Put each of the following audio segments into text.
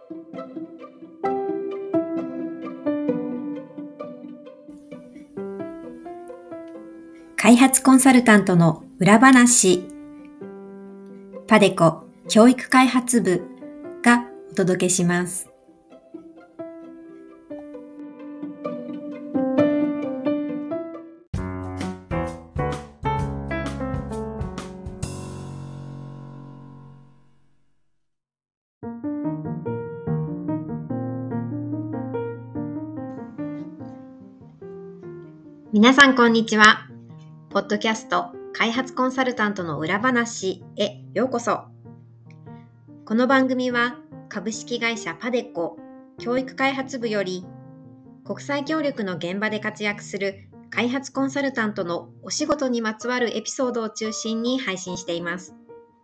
開発コンサルタントの裏話、パデコ教育開発部がお届けします。皆さんこんにちは。ポッドキャスト開発コンサルタントの裏話へようこそ。この番組は株式会社パデコ教育開発部より国際協力の現場で活躍する開発コンサルタントのお仕事にまつわるエピソードを中心に配信しています。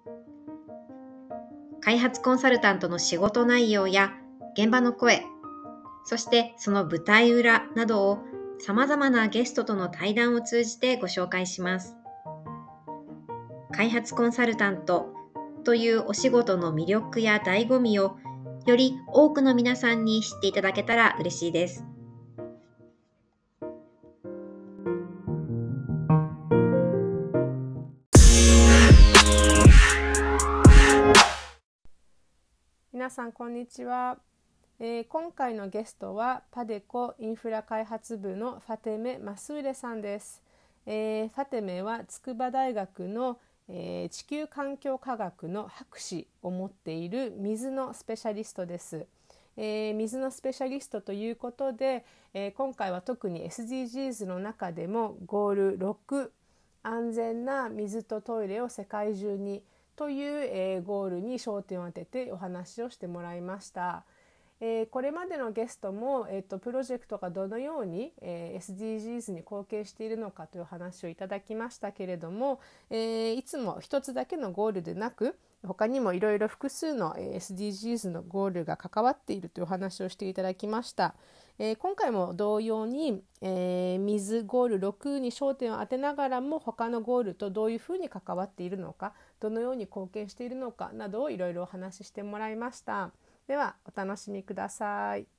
開発コンサルタントの仕事内容や現場の声、そしてその舞台裏などを様々なゲストとの対談を通じてご紹介します。開発コンサルタントというお仕事の魅力や醍醐味をより多くの皆さんに知っていただけたら嬉しいです。 皆さんこんにちは。今回のゲストはパデコインフラ開発部のファテメ・マスーレさんです。ファテメは筑波大学の、地球環境科学の博士を持っている水のスペシャリストです。水のスペシャリストということで、今回は特に SDGs の中でもゴール6、安全な水とトイレを世界中にという、ゴールに焦点を当ててお話をしてもらいました。これまでのゲストも、プロジェクトがどのように、SDGs に貢献しているのかという話をいただきましたけれども、いつも一つだけのゴールでなく他にもいろいろ複数の SDGs のゴールが関わっているという話をしていただきました。今回も同様に、水ゴール6に焦点を当てながらも他のゴールとどういうふうに関わっているのか、どのように貢献しているのかなどをいろいろお話ししてもらいました。ではお楽しみください。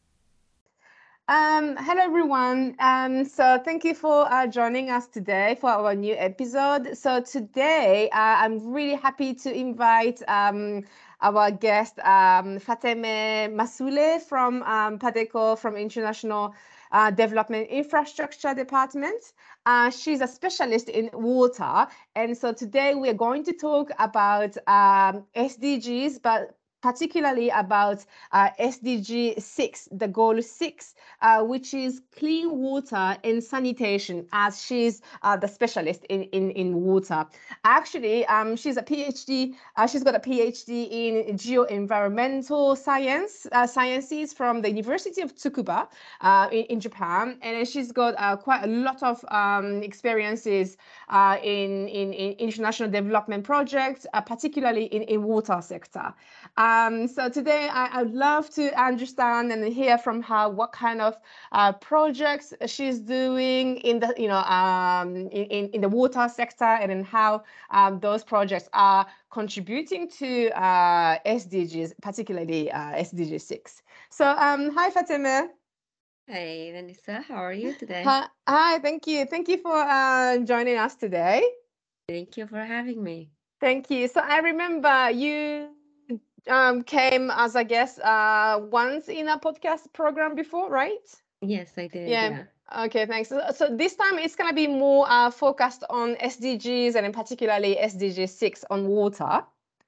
Hello everyone. So thank you for joining us today for our new episode. So today I'm really happy to invite our guest Fateme Masoule from Padeco from International Development Infrastructure Department. She's a specialist in water, and so today we are going to talk about SDGs, but particularly about SDG 6, the goal 6, which is clean water and sanitation, as she's the specialist in water. Actually, she's a PhD. She's got a PhD in geoenvironmental sciences from the University of Tsukuba in Japan, and she's got quite a lot of experiences in international development projects, particularly in water sector. So today I'd love to understand and hear from her what kind of projects she's doing in the in the water sector, and in how those projects are contributing to SDGs, particularly SDG 6. So hi Fatime. Hey, Vanessa, how are you today? Hi, thank you. Thank you for joining us today. Thank you for having me. Thank you. So I remember you came as a guest once in a podcast program before, right? Yes, I did. Yeah. Okay, thanks. So this time it's going to be more focused on SDGs, and in particularly SDG 6 on water.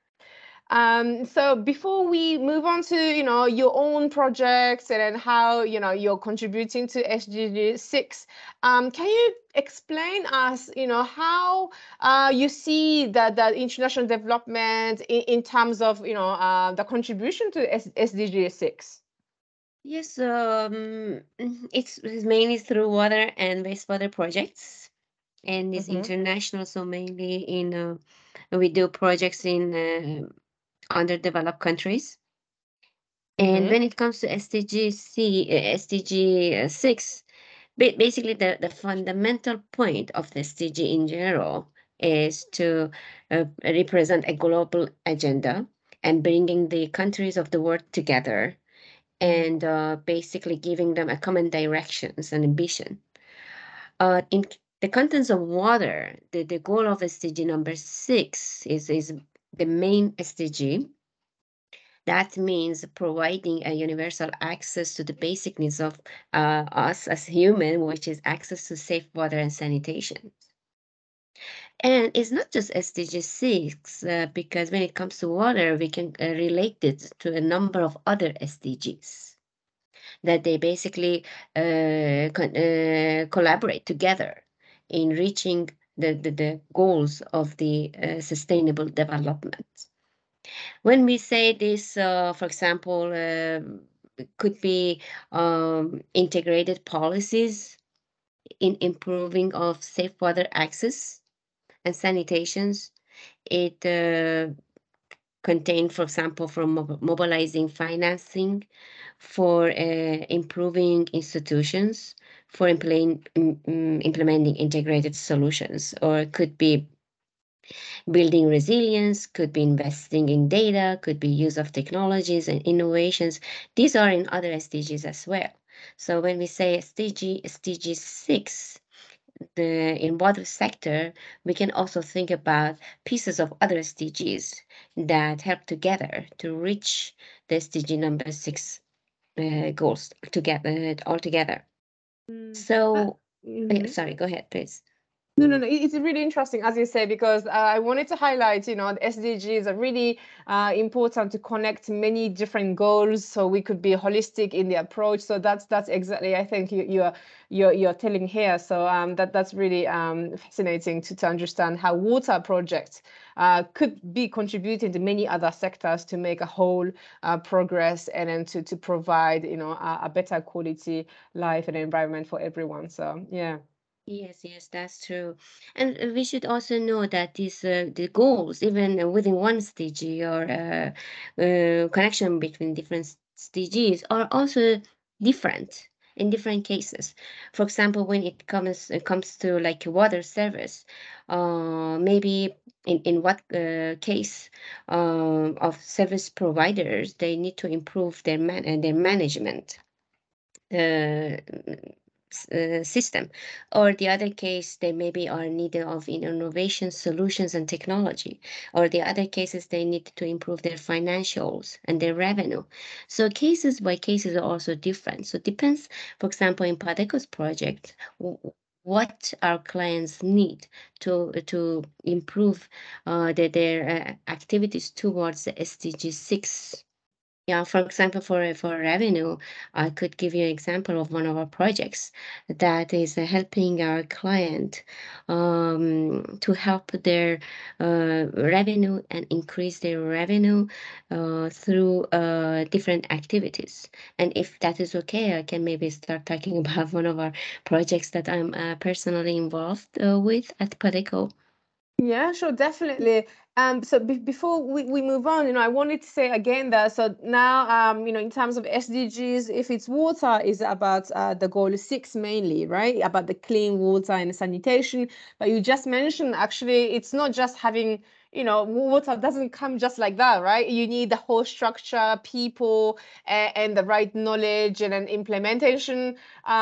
So before we move on to, your own projects and then how, you're contributing to SDG 6, can you explain us, how you see the international development in terms of, the contribution to SDG 6? Yes, it's mainly through water and wastewater projects, and it's international, so mainly in we do projects in underdeveloped countries. And when it comes to SDG 6, basically the fundamental point of the SDG in general is to represent a global agenda and bringing the countries of the world together and basically giving them a common directions and ambition. In the contents of water, the goal of SDG number 6 is the main SDG. That means providing a universal access to the basic needs of us as human, which is access to safe water and sanitation. And it's not just SDG 6, because when it comes to water, we can relate it to a number of other SDGs that they basically collaborate together in reaching the goals of the sustainable development. When we say this, for example, could be integrated policies in improving of safe water access and sanitations. It contained, for example, from mobilizing financing for improving institutions, for implementing integrated solutions, or it could be building resilience, could be investing in data, could be use of technologies and innovations. These are in other SDGs as well. So when we say SDG 6, in water sector, we can also think about pieces of other SDGs that help together to reach the SDG number 6 goals together altogether. So, sorry, go ahead, please. No. It's really interesting, as you say, because I wanted to highlight, the SDGs are really important to connect many different goals, so we could be holistic in the approach. So that's exactly, I think you're telling here. So that's really fascinating to understand how water projects could be contributing to many other sectors to make a whole progress, and then to provide, a better quality life and environment for everyone. So yeah. Yes, that's true. And we should also know that these the goals, even within one SDG or connection between different SDGs, are also different in different cases. For example, when it comes to like water service, maybe in what case of service providers, they need to improve their management system, or the other case they maybe are needed of innovation solutions and technology, or the other cases they need to improve their financials and their revenue. So cases by cases are also different. So it depends, for example, in Padeco's project, what our clients need to improve their activities towards the SDG 6. Yeah, for example, for revenue, I could give you an example of one of our projects that is helping our client to help their revenue and increase their revenue through different activities. And if that is okay, I can maybe start talking about one of our projects that I'm personally involved with at Padeco. Yeah, sure, definitely. So before we move on, I wanted to say again that so now, in terms of SDGs, if it's water, is about the goal 6 mainly, right? About the clean water and sanitation. But you just mentioned actually, it's not just having, water doesn't come just like that, right? You need the whole structure, people, and the right knowledge and then implementation,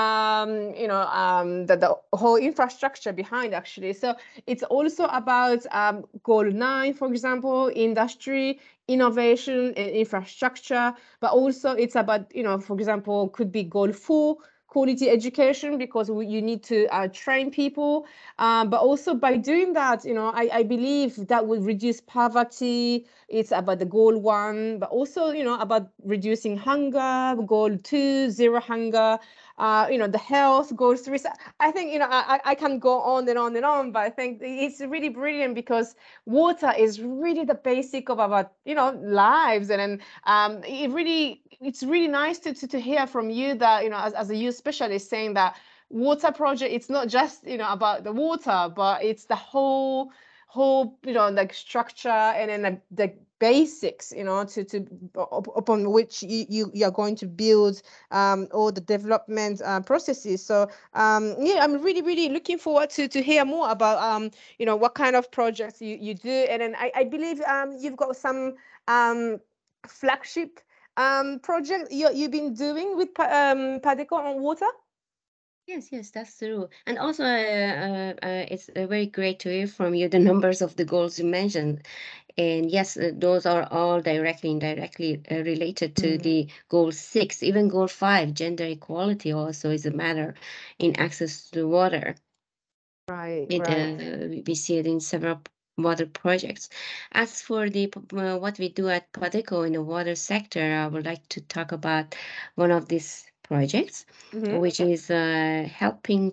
the whole infrastructure behind actually. So it's also about goal 9, for example, industry, innovation and infrastructure, but also it's about, for example, could be goal 4, quality education, because you need to train people. But also by doing that, I believe that will reduce poverty. It's about the goal 1, but also, about reducing hunger, goal 2, zero hunger. The health goes through. I think, I can go on and on and on, but I think it's really brilliant because water is really the basic of our, lives. And then it's really nice to hear from you that, as a youth specialist, saying that water project, it's not just, about the water, but it's the whole, like structure and then the basics, upon which you are going to build all the development processes. So yeah, I'm really looking forward to hear more about what kind of projects you do. And then I believe you've got some flagship project you've been doing with Padeco on water? Yes, that's true. And also, it's very great to hear from you the numbers of the goals you mentioned. And yes, those are all directly, indirectly related to the goal 6. Even goal 5, gender equality, also is a matter in access to water. Right. We see it in several water projects. As for the what we do at Padeco in the water sector, I would like to talk about one of these projects, which is helping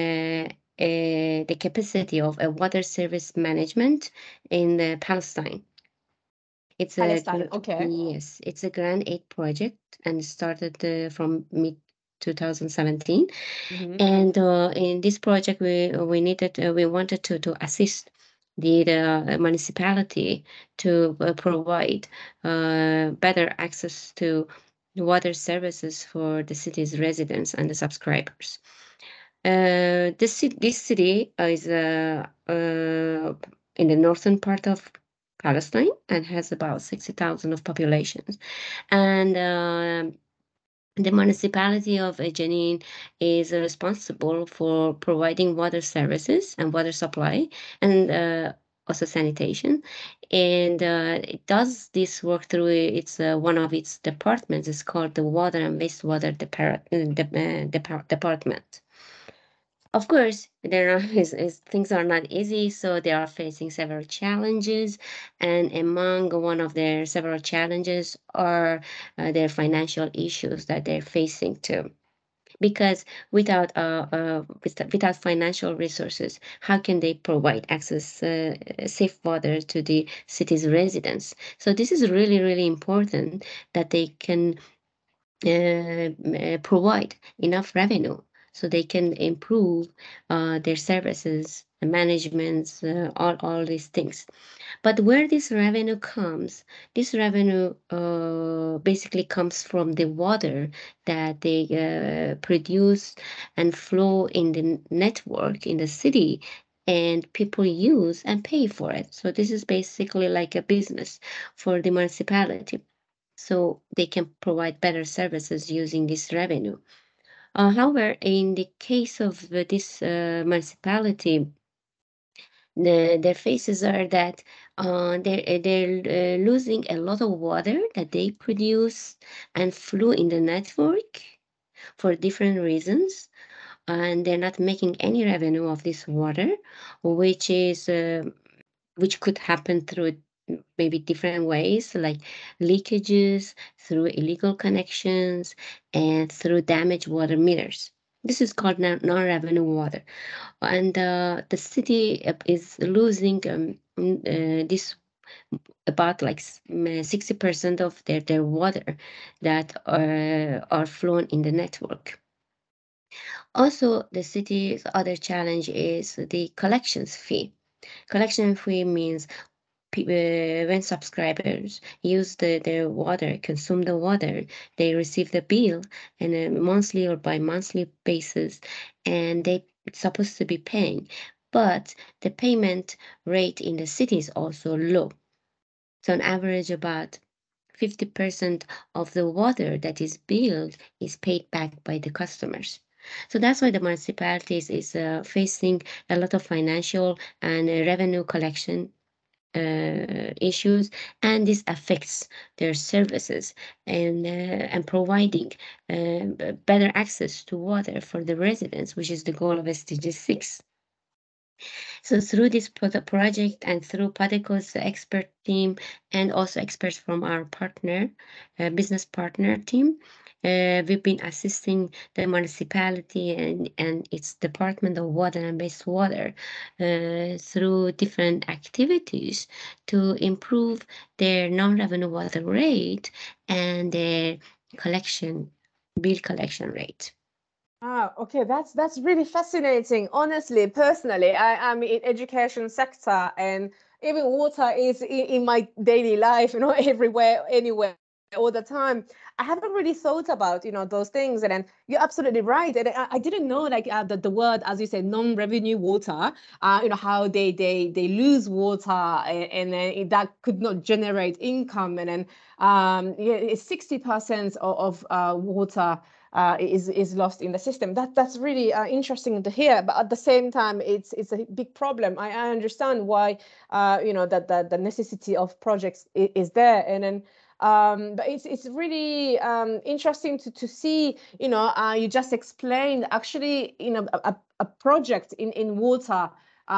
the capacity of a water service management in Palestine. It's Palestine, okay. Yes, it's a Grant Aid project and started from mid 2017. And in this project, we wanted to assist the municipality to provide better access to water services for the city's residents and the subscribers. This city is in the northern part of Palestine and has about 60,000 of populations. And the municipality of Jenin is responsible for providing water services and water supply and also sanitation. And it does this work through its one of its departments. It's called the Water and Wastewater Department. Of course, things are not easy, so they are facing several challenges, and among one of their several challenges are their financial issues that they're facing too. Because without financial resources, how can they provide access safe water to the city's residents? So this is really, really important that they can provide enough revenue so they can improve their services, management, all these things. But where this revenue comes, this revenue basically comes from the water that they produce and flow in the network in the city, and people use and pay for it. So this is basically like a business for the municipality. So they can provide better services using this revenue. However, in the case of this municipality, their faces are that they're losing a lot of water that they produce and flow in the network for different reasons, and they're not making any revenue of this water, which is which could happen through maybe different ways, like leakages, through illegal connections, and through damaged water meters. This is called non-revenue water. And the city is losing this about like 60% of their water that are flown in the network. Also, the city's other challenge is the collections fee. Collection fee means when subscribers use their water, consume the water, they receive the bill on a monthly or bi-monthly basis, and they supposed to be paying. But the payment rate in the city is also low. So on average, about 50% of the water that is billed is paid back by the customers. So that's why the municipalities is facing a lot of financial and revenue collection issues, and this affects their services and providing better access to water for the residents, which is the goal of SDG 6. So through this project and through Padeco's expert team and also experts from our partner, business partner team, we've been assisting the municipality and its Department of Water and Wastewater through different activities to improve their non-revenue water rate and their bill collection rate. Ah, okay, that's really fascinating. Honestly, personally, I'm in education sector, and even water is in my daily life, everywhere, anywhere. all the time. I haven't really thought about, those things. And then you're absolutely right. And I didn't know like the word, as you said, non-revenue water, how they lose water, and then that could not generate income. And then it's 60% of water is lost in the system. That's really interesting to hear. But at the same time, it's a big problem. I understand why that the necessity of projects is there. And then but it's really interesting to see, you just explained actually, a project in water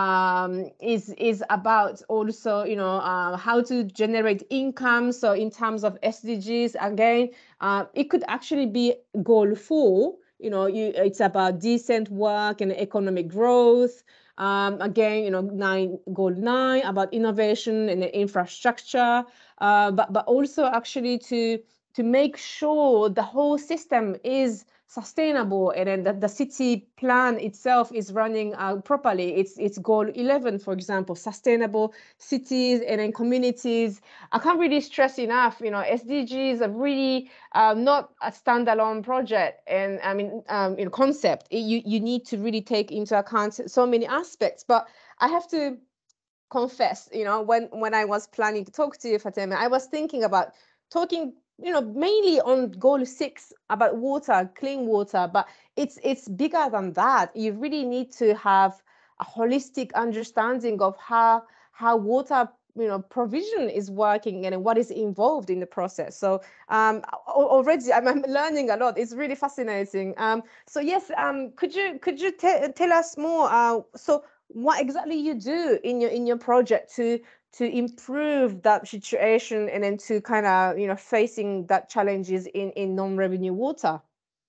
is about also, how to generate income. So in terms of SDGs, again, it could actually be goal 4. It's about decent work and economic growth. Again, goal 9 about innovation and infrastructure, but also actually to make sure the whole system is sustainable, and then that the city plan itself is running properly. It's goal 11, for example, sustainable cities and then communities. I can't really stress enough, SDGs are really not a standalone project, and I mean, concept. You need to really take into account so many aspects. But I have to confess, when I was planning to talk to you, Fatima, I was thinking about talking, mainly on goal 6 about water, clean water, but it's bigger than that. You really need to have a holistic understanding of how water provision is working and what is involved in the process. So already I'm learning a lot. It's really fascinating. So yes, could you tell us more? So what exactly you do in your project to improve that situation, and then to kind of facing that challenges in non-revenue water?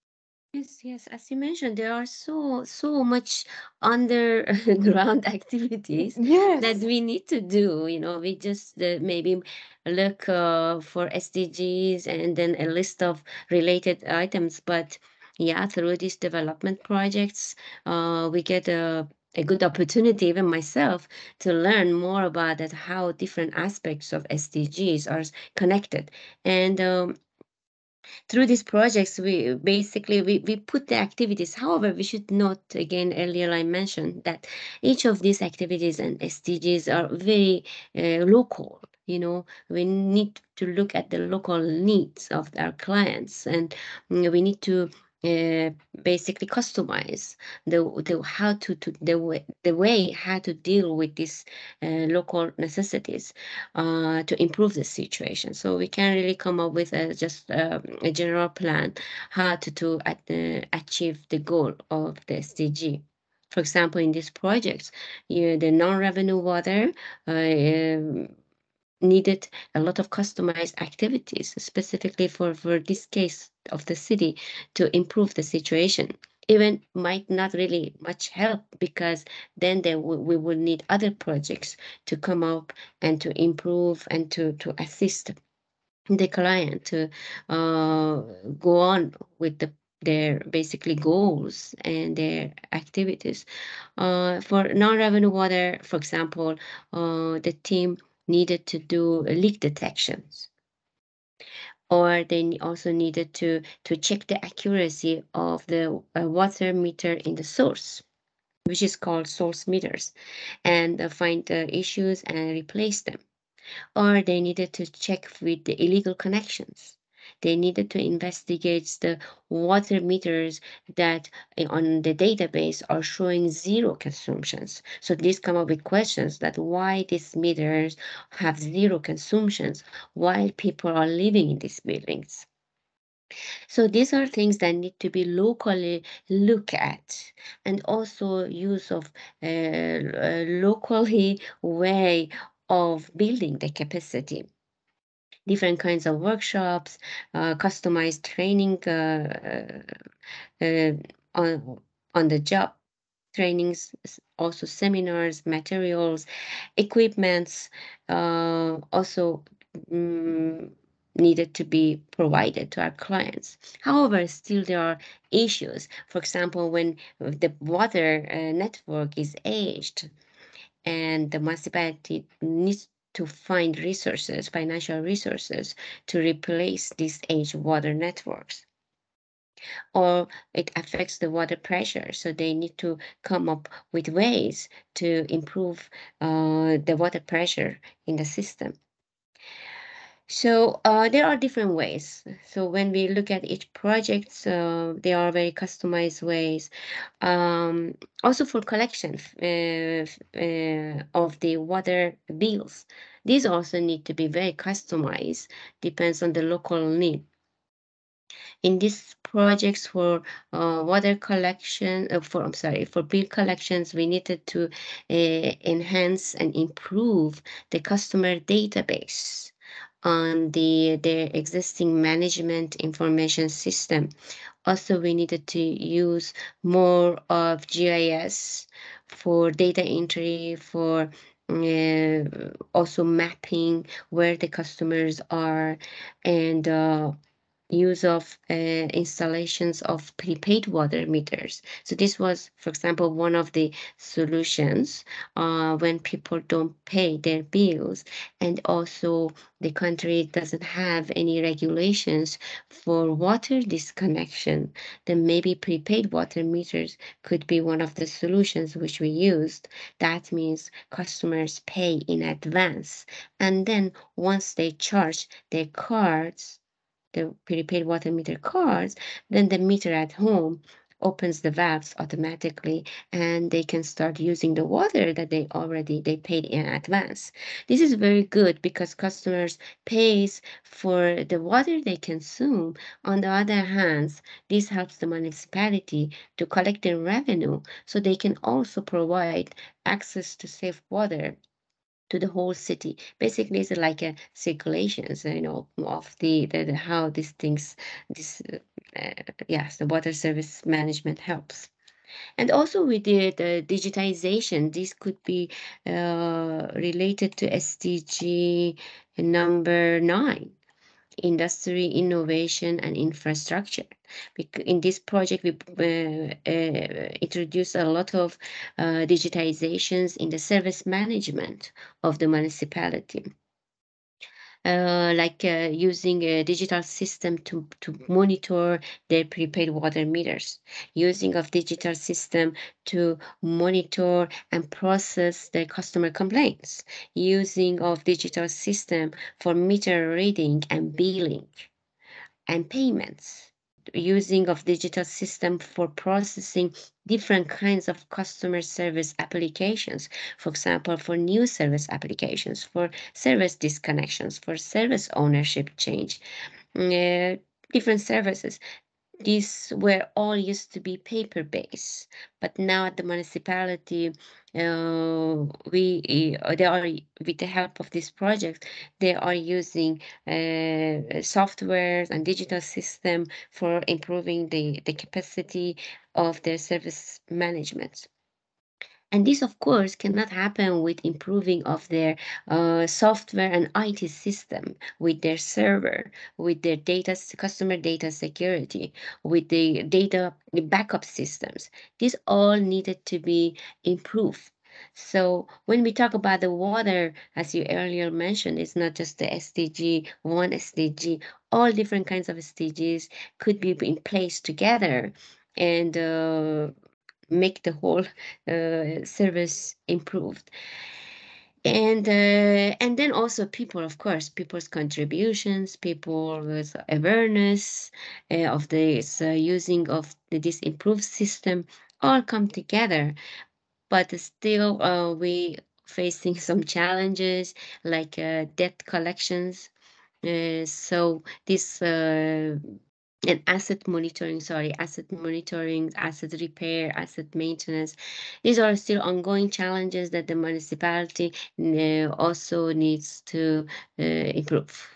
Yes. As you mentioned, there are so much underground activities that Yes. we need to do. We just maybe look for SDGs and then a list of related items. But yeah, through these development projects, we get a good opportunity, even myself, to learn more about that, how different aspects of SDGs are connected. And through these projects, we basically we put the activities. However, we should note again, earlier I mentioned that each of these activities and SDGs are very local. We need to look at the local needs of our clients, and we need to basically customize the how to the way how to deal with these local necessities to improve the situation. So we can really come up with just a general plan how to achieve the goal of the SDG. For example, in these projects, the non-revenue water needed a lot of customized activities specifically for this case of the city to improve the situation. Even might not really much help, because then we will need other projects to come up and to improve and to assist the client to go on with their basically goals and their activities. For non-revenue water, for example, the team needed to do leak detections, or they also needed to check the accuracy of the water meter in the source, which is called source meters, and find the issues and replace them. Or they needed to check with the illegal connections. They needed to investigate the water meters that on the database are showing zero consumptions. So these come up with questions that why these meters have zero consumptions while people are living in these buildings. So these are things that need to be locally looked at, and also use of locally way of building the capacity. Different kinds of workshops, customized training on the job trainings, also seminars, materials, equipments, also needed to be provided to our clients. However, still there are issues. For example, when the water network is aged, and the municipality needs to find resources, financial resources, to replace these aged water networks. Or it affects the water pressure, so they need to come up with ways to improve the water pressure in the system. So there are different ways. So when we look at each project, there are very customized ways. Also for collection of the water bills, these also need to be very customized, depends on the local need. In these projects for water collection, for bill collections, we needed to enhance and improve the customer database on their existing management information system. Also, we needed to use more of GIS for data entry, for also mapping where the customers are, and use of installations of prepaid water meters. So this was, for example, one of the solutions when people don't pay their bills, and also the country doesn't have any regulations for water disconnection, then maybe prepaid water meters could be one of the solutions which we used. That means customers pay in advance, and then once they charge their cards, the prepaid water meter cards, then the meter at home opens the valves automatically, and they can start using the water that they paid in advance. This is very good because customers pays for the water they consume. On the other hand, this helps the municipality to collect their revenue, so they can also provide access to safe water to the whole city. Basically, it's like a circulations, of the how these things, yes, the water service management helps. And also with the digitization, this could be related to SDG number 9. Industry, innovation, and infrastructure. In this project, we introduced a lot of digitizations in the service management of the municipality. Like using a digital system to monitor their prepaid water meters, using of digital system to monitor and process their customer complaints, using of digital system for meter reading and billing and payments, using of digital system for processing different kinds of customer service applications, for example, for new service applications, for service disconnections, for service ownership change, different services. These were all used to be paper-based, but now at the municipality, they are, with the help of this project, they are using softwares and digital system for improving the capacity of their service management. And this, of course, cannot happen with improving of their software and IT system, with their server, with their customer data security, with the data backup systems. These all needed to be improved. So when we talk about the water, as you earlier mentioned, it's not just the SDG, one SDG, all different kinds of SDGs could be in place together and make the whole service improved. And then also people, of course, people's contributions, people's awareness of this using of this improved system all come together. But still, we facing some challenges like debt collections. So this and asset monitoring, asset repair, asset maintenance. These are still ongoing challenges that the municipality also needs to improve.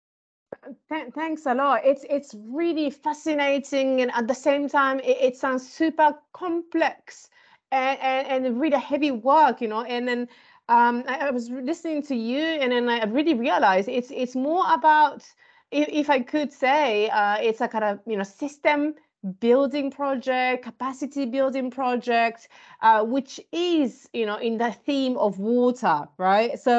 Thanks a lot. It's really fascinating, and at the same time, it sounds super complex and really heavy work, And then I was listening to you, and then I really realized it's more about, if I could say, it's a kind of system building project, capacity building project, which is in the theme of water, right? So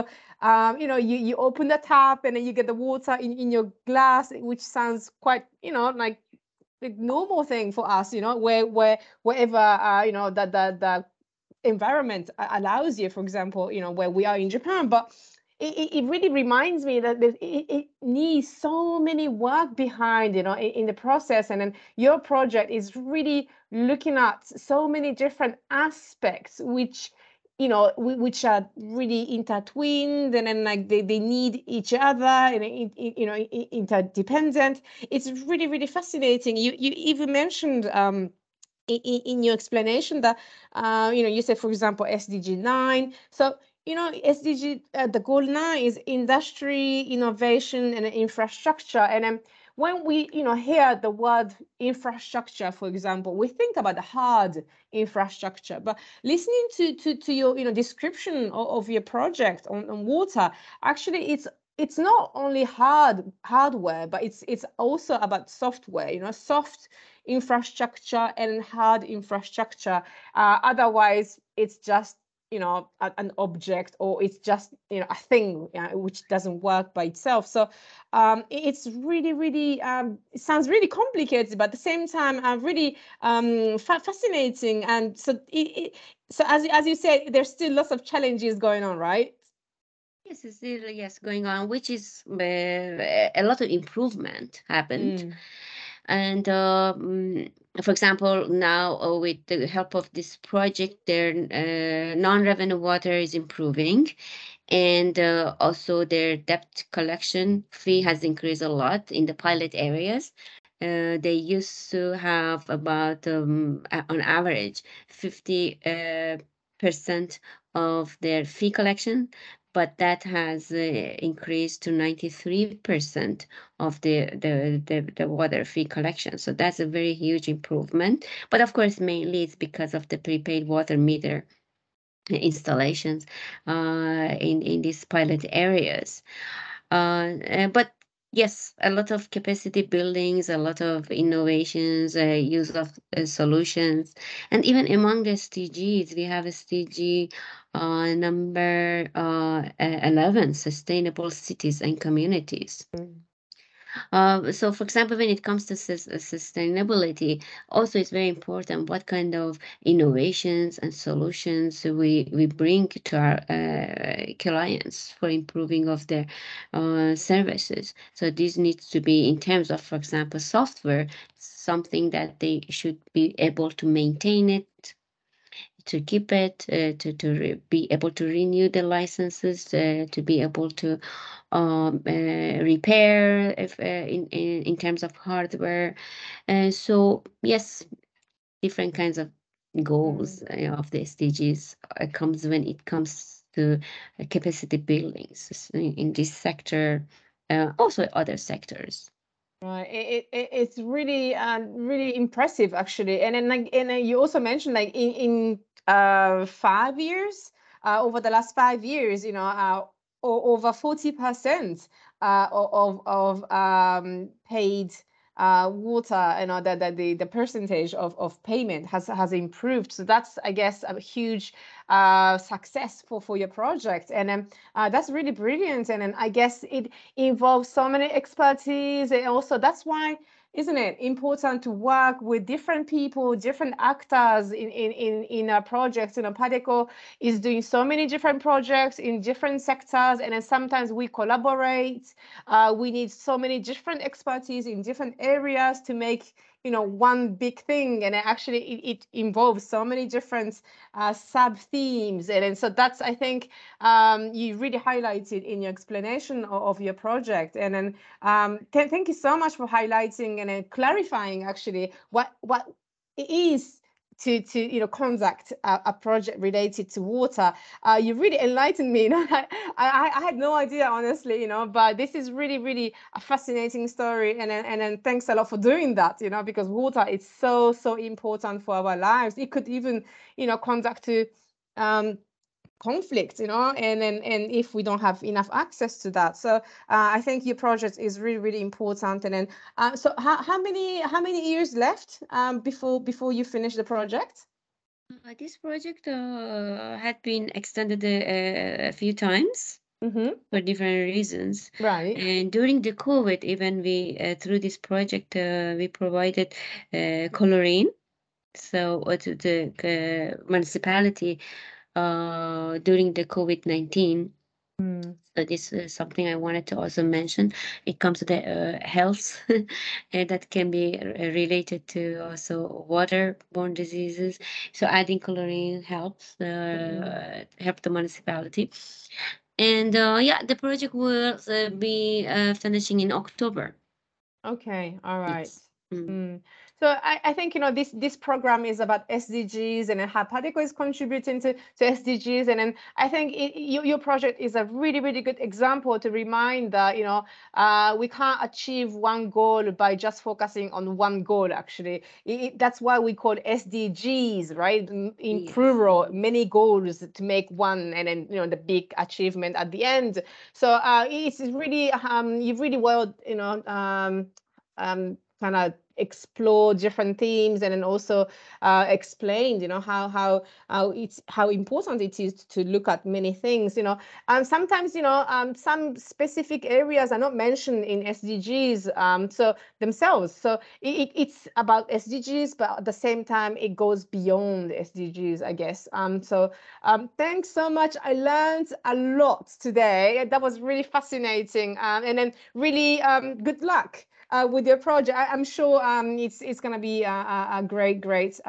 you open the tap and then you get the water in your glass, which sounds quite, like the normal thing for us, wherever, the environment allows you, for example, where we are in Japan. But it really reminds me that it needs so many work behind, in the process. And then your project is really looking at so many different aspects, which which are really intertwined, and then like they need each other, and interdependent. It's really, really fascinating. You even mentioned in your explanation that you said, for example, SDG 9. So SDG, the goal 9 is industry, innovation, and infrastructure. And then when we hear the word infrastructure, for example, we think about the hard infrastructure. But listening to your description of your project on water, actually it's not only hardware, but it's also about software, soft infrastructure and hard infrastructure. Otherwise, it's just an object, or it's just a thing which doesn't work by itself. So it's really, really it sounds really complicated, but at the same time really fascinating. And so so as you said, there's still lots of challenges going on, right? Yes, it's still yes going on, which is a lot of improvement happened. And for example, now with the help of this project, their non-revenue water is improving, and also their debt collection fee has increased a lot in the pilot areas. They used to have about on average 50% of their fee collection, but that has increased to 93% of the water fee collection. So that's a very huge improvement. But of course, mainly it's because of the prepaid water meter installations in these pilot areas. But yes, a lot of capacity buildings, a lot of innovations, use of solutions, and even among the SDGs, we have SDG number 11, sustainable cities and communities. So, for example, when it comes to sustainability, also it's very important what kind of innovations and solutions we bring to our clients for improving of their services. So this needs to be in terms of, for example, software, something that they should be able to maintain it, to keep it, to be able to renew the licenses, to be able to repair if in terms of hardware. So yes, different kinds of goals of the SDGs comes when it comes to capacity buildings in this sector, also other sectors. Right. It's really really impressive, actually. And then you also mentioned, like, in 5 years, over the last 5 years, over 40% of paid water, that the percentage of payment has improved. So that's, I guess, a huge success for your project. And that's really brilliant. And then I guess it involves so many expertise, and also that's why, isn't it important to work with different people, different actors in a project? Padeco is doing so many different projects in different sectors, and then sometimes we collaborate. We need so many different expertise in different areas to make one big thing, and actually it involves so many different sub themes. And so that's, I think, you really highlighted in your explanation of your project. And then thank you so much for highlighting and clarifying actually what it is to conduct a project related to water. You really enlightened me. I had no idea, honestly, but this is really, really a fascinating story. And then thanks a lot for doing that, because water is so important for our lives. It could even conduct to conflict, and if we don't have enough access to that. So I think your project is really, really important. And then so how many years left before you finish the project? This project had been extended a few times. for different reasons. Right. And during the COVID, even we through this project we provided chlorine. So to the municipality during the COVID-19. So this is something I wanted to also mention. It comes to the health and that can be related to also waterborne diseases. So adding chlorine helps help the municipality. And yeah, the project will be finishing in October. Okay, all right. Yes. Mm. So I think, this program is about SDGs and how Padeco is contributing to SDGs. And then I think your project is a really, really good example to remind that, we can't achieve one goal by just focusing on one goal, actually. That's why we call SDGs, right? In Yes. plural, many goals to make one, and then, the big achievement at the end. So it's really, you've really well, kind of explore different themes, and then also explained, how important it is to look at many things. Sometimes, some specific areas are not mentioned in SDGs so themselves. So it's about SDGs, but at the same time, it goes beyond SDGs, I guess. So thanks so much. I learned a lot today. That was really fascinating. And then really good luck with your project. I'm sure it's going to be a great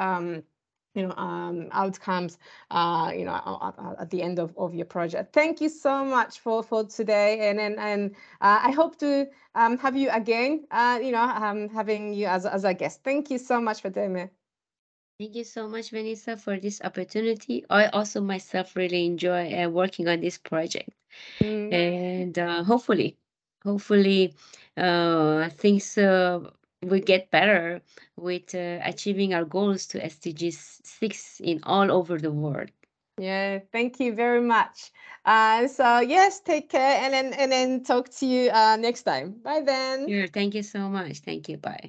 outcomes at the end of your project. Thank you so much for today, and I hope to have you again, having you as a guest. Thank you so much, Fateme. Thank you so much, Vanessa, for this opportunity. I also myself really enjoy working on this project. And hopefully things will get better with achieving our goals to SDGs 6 in all over the world. Yeah, thank you very much. So yes, take care, and then talk to you next time. Bye then. Sure, thank you so much. Thank you. Bye.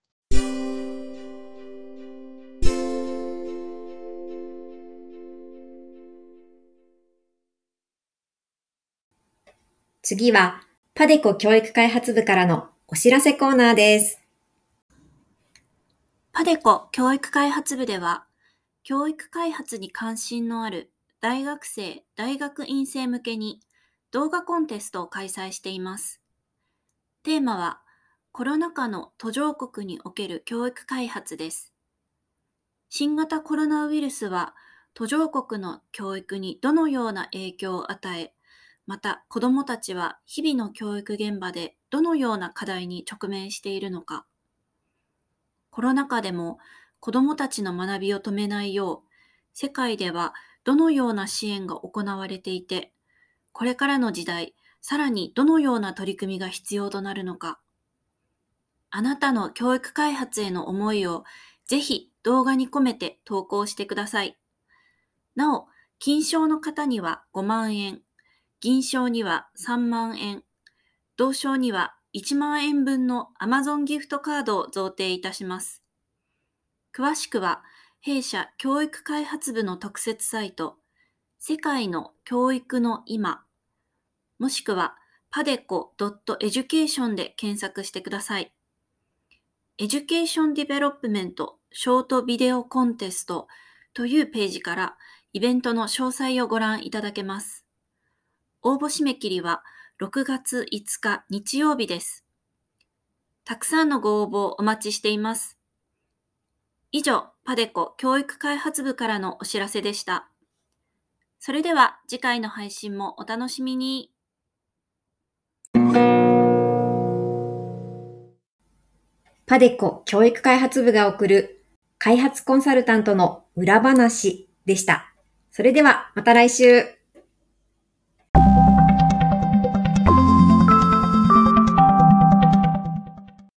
次は、パデコ教育開発部からのお知らせコーナーです。 パデコ教育開発部では、教育開発に関心のある大学生・大学院生向けに動画コンテストを開催しています。テーマは、コロナ禍の途上国における教育開発です。新型コロナウイルスは、途上国の教育にどのような影響を与え、また子どもたちは日々の教育現場でどのような課題に直面しているのか。コロナ禍でも子どもたちの学びを止めないよう、世界ではどのような支援が行われていて、これからの時代、さらにどのような取り組みが必要となるのか。あなたの教育開発への思いをぜひ動画に込めて投稿してください。なお、金賞の方には5万円、銀賞には3万円、銅賞には1万円分の Amazon ギフトカードを贈呈いたします。詳しくは、弊社教育開発部の特設サイト、世界の教育の今、もしくは padeco.education で検索してください。Education Development ショートビデオコンテストというページからイベントの詳細をご覧いただけます。応募締め切りは6月5日日曜日です。たくさんのご応募お待ちしています。以上、パデコ教育開発部からのお知らせでした。それでは次回の配信もお楽しみに。 パデコ教育開発部が送る開発コンサルタントの裏話でした。それではまた来週。